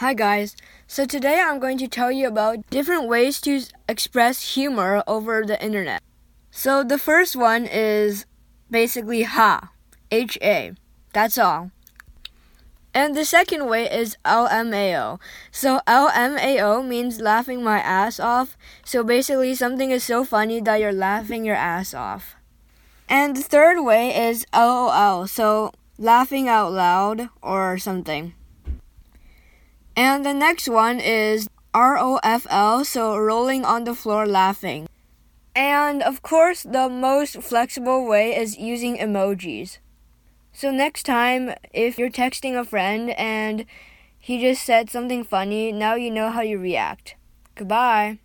Hi guys, so today I'm going to tell you about different ways to express humor over the internet. So the first one is basically H-A, that's all. And the second way is LMAO. So LMAO means laughing my ass off. So basically something is so funny that you're laughing your ass off. And the third way is LOL, so laughing out loud or something. And the next one is ROFL, so rolling on the floor laughing. And of course, the most flexible way is using emojis. So next time, if you're texting a friend and he just said something funny, now you know how you react. Goodbye.